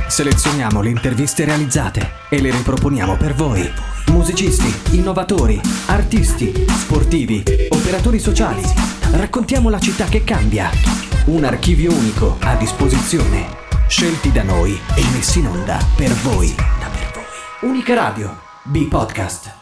Selezioniamo le interviste realizzate e le riproponiamo per voi. Musicisti, innovatori, artisti, sportivi, operatori sociali. Raccontiamo la città che cambia. Un archivio unico a disposizione. Scelti da noi e messi in onda per voi. Unica Radio, B-Podcast.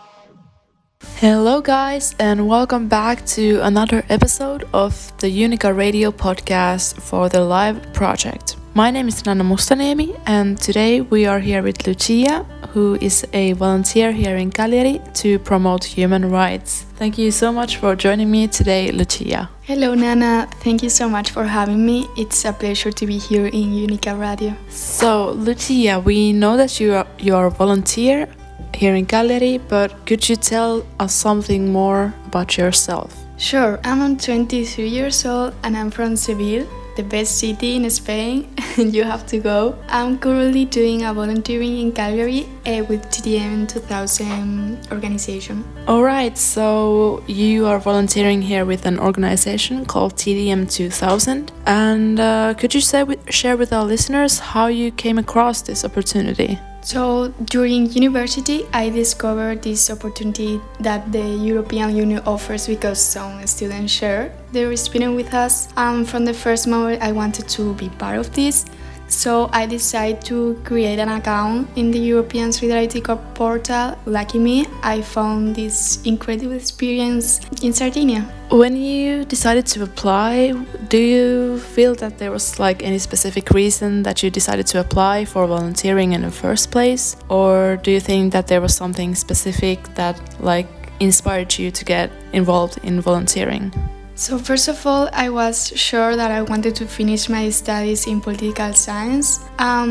Hello guys and welcome back to another episode of the Unica Radio podcast for the Live project. My name is Nana Mustanemi and today we are here with Lucia, who is a volunteer here in Cagliari to promote human rights. Thank you so much for joining me today, Lucia. Hello Nana, thank you so much for having me. It's a pleasure to be here in Unica Radio. So Lucia, we know that you are a volunteer here in Cagliari, but could you tell us something more about yourself? Sure, I'm 23 years old and I'm from Seville, the best city in Spain. You have to go. I'm currently doing a volunteering in Cagliari with TDM 2000 organization. Alright, so you are volunteering here with an organization called TDM 2000, and could you share with our listeners how you came across this opportunity? So during university, I discovered this opportunity that the European Union offers because some students share their experience with us. And from the first moment, I wanted to be part of this. So I decided to create an account in the European Solidarity Corps portal. Lucky me, I found this incredible experience in Sardinia. When you decided to apply, do you feel that there was any specific reason that you decided to apply for volunteering in the first place? Or do you think that there was something specific that inspired you to get involved in volunteering? So first of all, I was sure that I wanted to finish my studies in political science.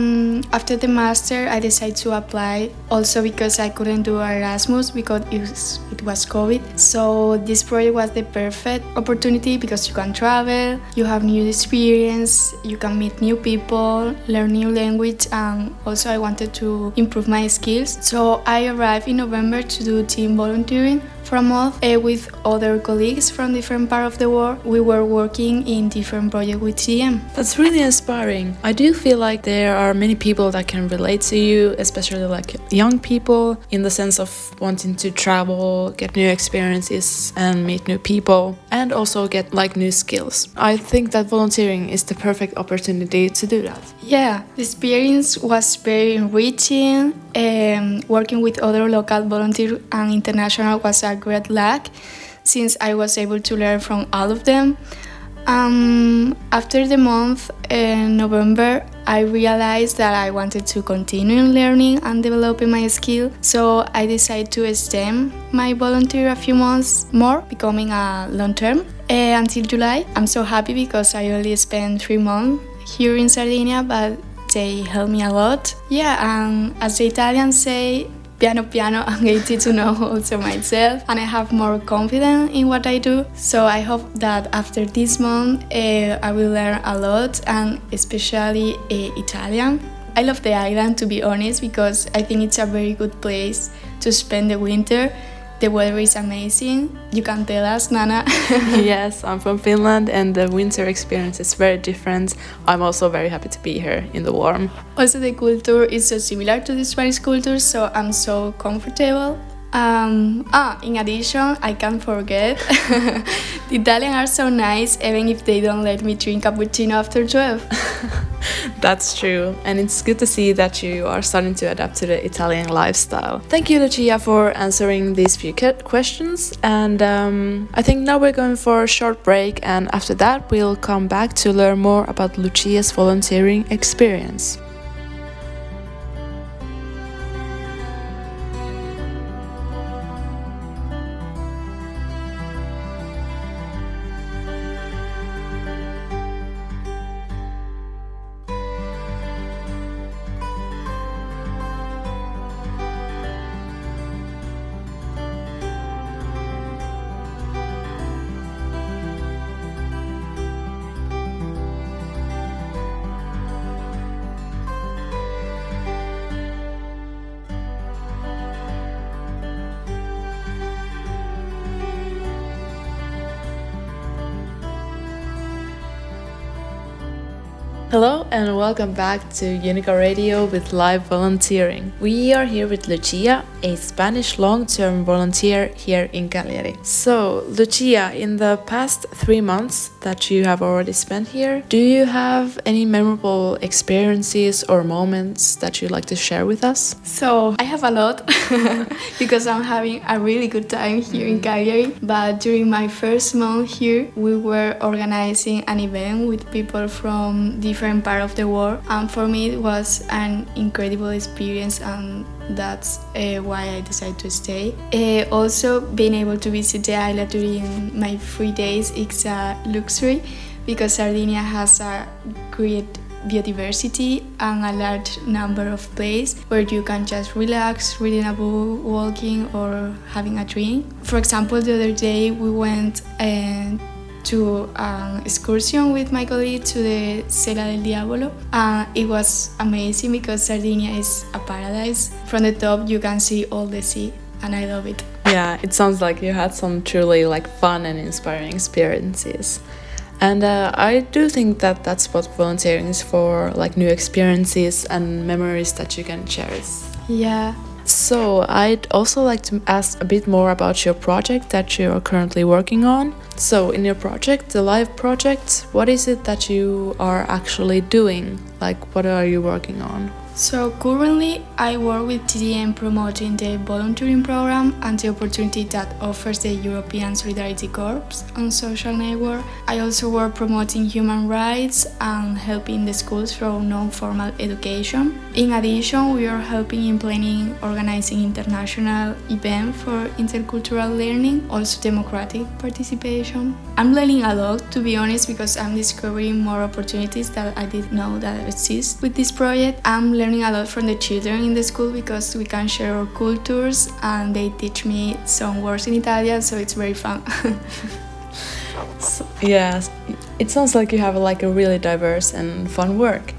After the master, I decided to apply also because I couldn't do Erasmus because it was COVID. So this project was the perfect opportunity because you can travel, you have new experience, you can meet new people, learn new language, and also I wanted to improve my skills. So I arrived in November to do team volunteering for a month with other colleagues from different parts of the world. We were working in different projects with TDM. That's really inspiring. I do feel like there are many people that can relate to you, especially young people, in the sense of wanting to travel, get new experiences and meet new people, and also get new skills. I think that volunteering is the perfect opportunity to do that. Yeah, the experience was very enriching. Working with other local volunteers and international was a great luck since I was able to learn from all of them. After the month in November, I realized that I wanted to continue learning and developing my skill, so I decided to extend my volunteer a few months more, becoming a long-term until July. I'm so happy because I only spent 3 months here in Sardinia, but they helped me a lot. Yeah, and as the Italians say, piano piano, I'm getting to know also myself and I have more confidence in what I do. So I hope that after this month I will learn a lot, and especially Italian. I love the island, to be honest, because I think it's a very good place to spend the winter. The weather is amazing. You can tell us, Nana. Yes, I'm from Finland and the winter experience is very different. I'm also very happy to be here in the warm. Also, the culture is so similar to the Spanish culture, so I'm so comfortable. In addition, I can't forget, the Italians are so nice even if they don't let me drink cappuccino after 12. That's true, and it's good to see that you are starting to adapt to the Italian lifestyle. Thank you, Lucia, for answering these few questions, and I think now we're going for a short break, and after that we'll come back to learn more about Lucia's volunteering experience. Hello and welcome back to Unica Radio with live volunteering. We are here with Lucia, a Spanish long-term volunteer here in Cagliari. So, Lucia, in the past 3 months that you have already spent here, do you have any memorable experiences or moments that you'd like to share with us? So I have a lot because I'm having a really good time here in Cagliari. But during my first month here, we were organizing an event with people from different parts of the world, and for me it was an incredible experience, and that's why I decided to stay. Also, being able to visit the island during my free days is a luxury because Sardinia has a great biodiversity and a large number of places where you can just relax, reading a book, walking, or having a drink. For example, the other day we went to an excursion with my colleague to the Sella del Diavolo. It was amazing because Sardinia is a paradise. From the top you can see all the sea, and I love it. Yeah, it sounds like you had some truly fun and inspiring experiences. And I do think that that's what volunteering is for, new experiences and memories that you can cherish. Yeah. So I'd also like to ask a bit more about your project that you are currently working on. So in your project, the Live project, what is it that you are actually doing? What are you working on? So currently I work with TDM promoting the volunteering program and the opportunity that offers the European Solidarity Corps on social network. I also work promoting human rights and helping the schools through non-formal education. In addition, we are helping in planning, organizing international events for intercultural learning, also democratic participation. I'm learning a lot, to be honest, because I'm discovering more opportunities that I didn't know that exist with this project. I'm learning a lot from the children in the school because we can share our cultures and they teach me some words in Italian, so it's very fun. So, yeah, it sounds like you have a really diverse and fun work.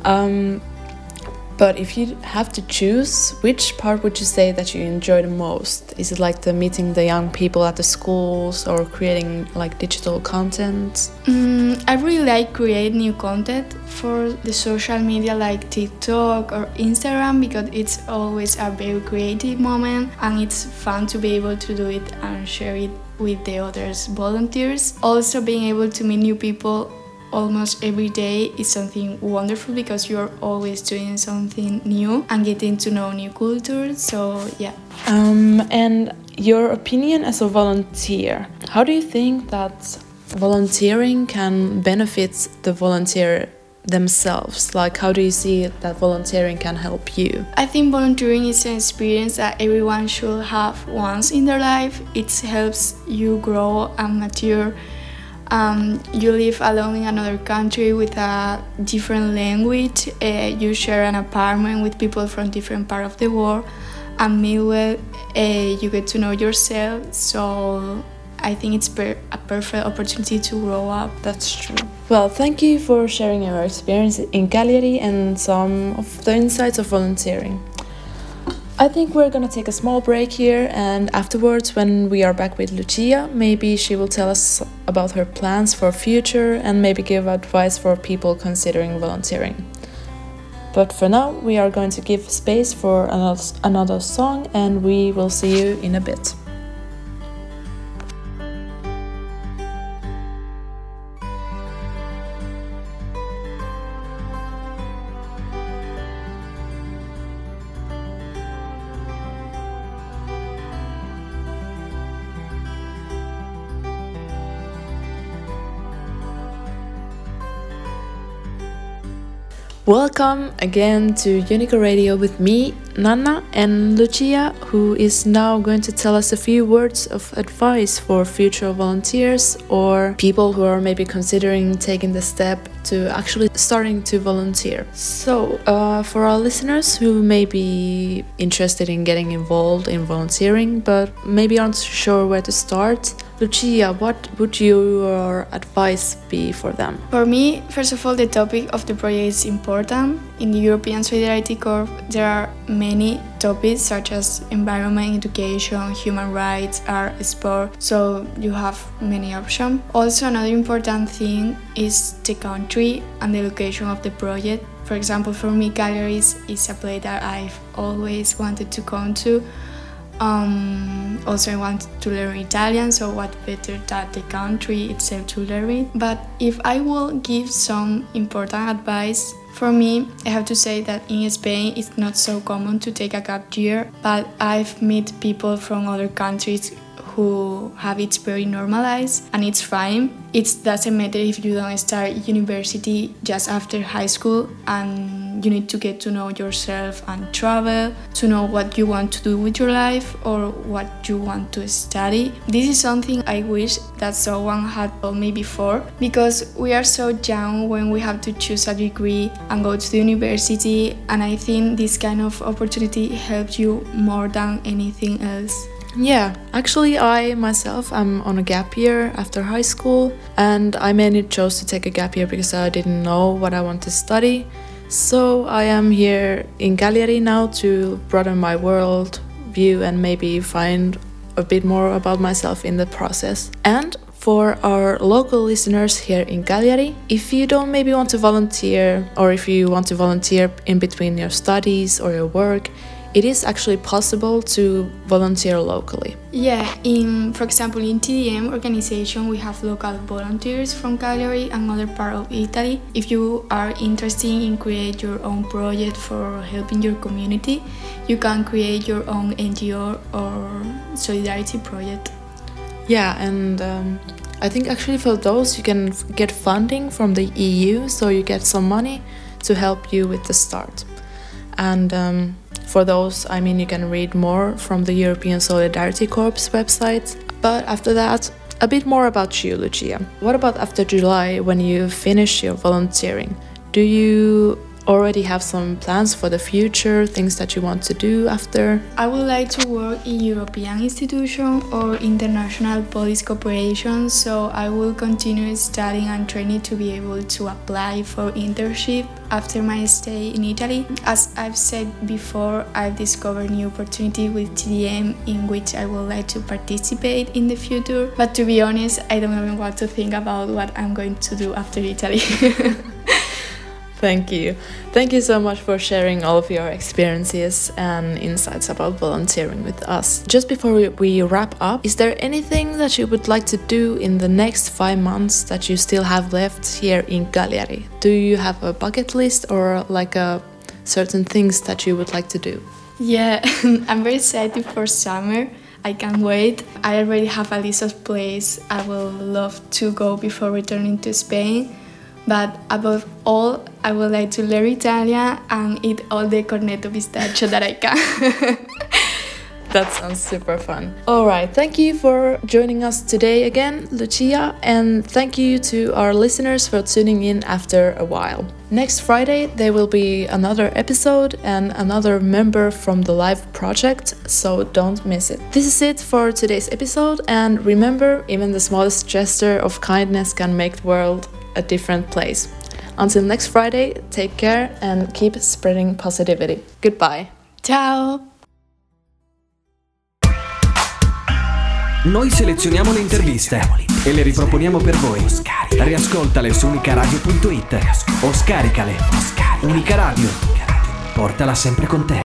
But if you have to choose, which part would you say that you enjoy the most? Is it the meeting the young people at the schools or creating digital content? I really like creating new content for the social media like TikTok or Instagram because it's always a very creative moment and it's fun to be able to do it and share it with the others volunteers. Also, being able to meet new people almost every day is something wonderful because you're always doing something new and getting to know new cultures. So yeah. And your opinion as a volunteer, how do you think that volunteering can benefit the volunteer themselves? How do you see that volunteering can help you? I think volunteering is an experience that everyone should have once in their life. It helps you grow and mature. You live alone in another country with a different language. You share an apartment with people from different parts of the world. And meanwhile, you get to know yourself. So I think it's a perfect opportunity to grow up. That's true. Well, thank you for sharing your experience in Cagliari and some of the insights of volunteering. I think we're gonna take a small break here, and afterwards, when we are back with Lucia, maybe she will tell us about her plans for future and maybe give advice for people considering volunteering. But for now, we are going to give space for another song, and we will see you in a bit. Welcome again to Unica Radio with me, Nanna, and Lucia, who is now going to tell us a few words of advice for future volunteers or people who are maybe considering taking the step to actually starting to volunteer. So, for our listeners who may be interested in getting involved in volunteering but maybe aren't sure where to start, Lucia, what would your advice be for them? For me, first of all, the topic of the project is important. In the European Solidarity Corps, there are many topics such as environment, education, human rights, art, sport, so you have many options. Also, another important thing is the country and the location of the project. For example, for me, Cagliari is a place that I've always wanted to come to. Also I want to learn Italian, so what better than the country itself to learn it. But if I will give some important advice, for me, I have to say that in Spain it's not so common to take a gap year, but I've met people from other countries who have it very normalized, and it's fine. It doesn't matter if you don't start university just after high school, and you need to get to know yourself and travel, to know what you want to do with your life or what you want to study. This is something I wish that someone had told me before, because we are so young when we have to choose a degree and go to the university, and I think this kind of opportunity helps you more than anything else. Yeah, actually I myself am on a gap year after high school, and I mainly chose to take a gap year because I didn't know what I want to study. So I am here in Cagliari now to broaden my world view and maybe find a bit more about myself in the process. And for our local listeners here in Cagliari, if you don't maybe want to volunteer, or if you want to volunteer in between your studies or your work, it is actually possible to volunteer locally. Yeah, for example, in TDM organization, we have local volunteers from Cagliari and other part of Italy. If you are interested in create your own project for helping your community, you can create your own NGO or solidarity project. Yeah, and I think actually for those you can get funding from the EU, so you get some money to help you with the start. And for those, I mean, you can read more from the European Solidarity Corps website. But after that, a bit more about you, Lucia. What about after July, when you finish your volunteering? Do you already have some plans for the future, things that you want to do after? I would like to work in European institution or international police cooperation, so I will continue studying and training to be able to apply for internship after my stay in Italy. As I've said before, I've discovered new opportunity with TDM in which I would like to participate in the future, but to be honest, I don't even want to think about what I'm going to do after Italy. Thank you. Thank you so much for sharing all of your experiences and insights about volunteering with us. Just before we wrap up, is there anything that you would like to do in the next 5 months that you still have left here in Cagliari? Do you have a bucket list or like certain things that you would like to do? Yeah, I'm very excited for summer. I can't wait. I already have a list of places I will love to go before returning to Spain. But above all, I would like to learn Italian and eat all the cornetto pistachio that I can. That sounds super fun. Alright, thank you for joining us today again, Lucia, and thank you to our listeners for tuning in after a while. Next Friday there will be another episode and another member from the live project, so don't miss it. This is it for today's episode, and remember, even the smallest gesture of kindness can make the world a different place. Until next Friday, take care and keep spreading positivity. Goodbye. Ciao! Noi selezioniamo le interviste e le riproponiamo per voi. Riascoltale su unicaradio.it o scaricale. Unica Radio. Portala sempre con te.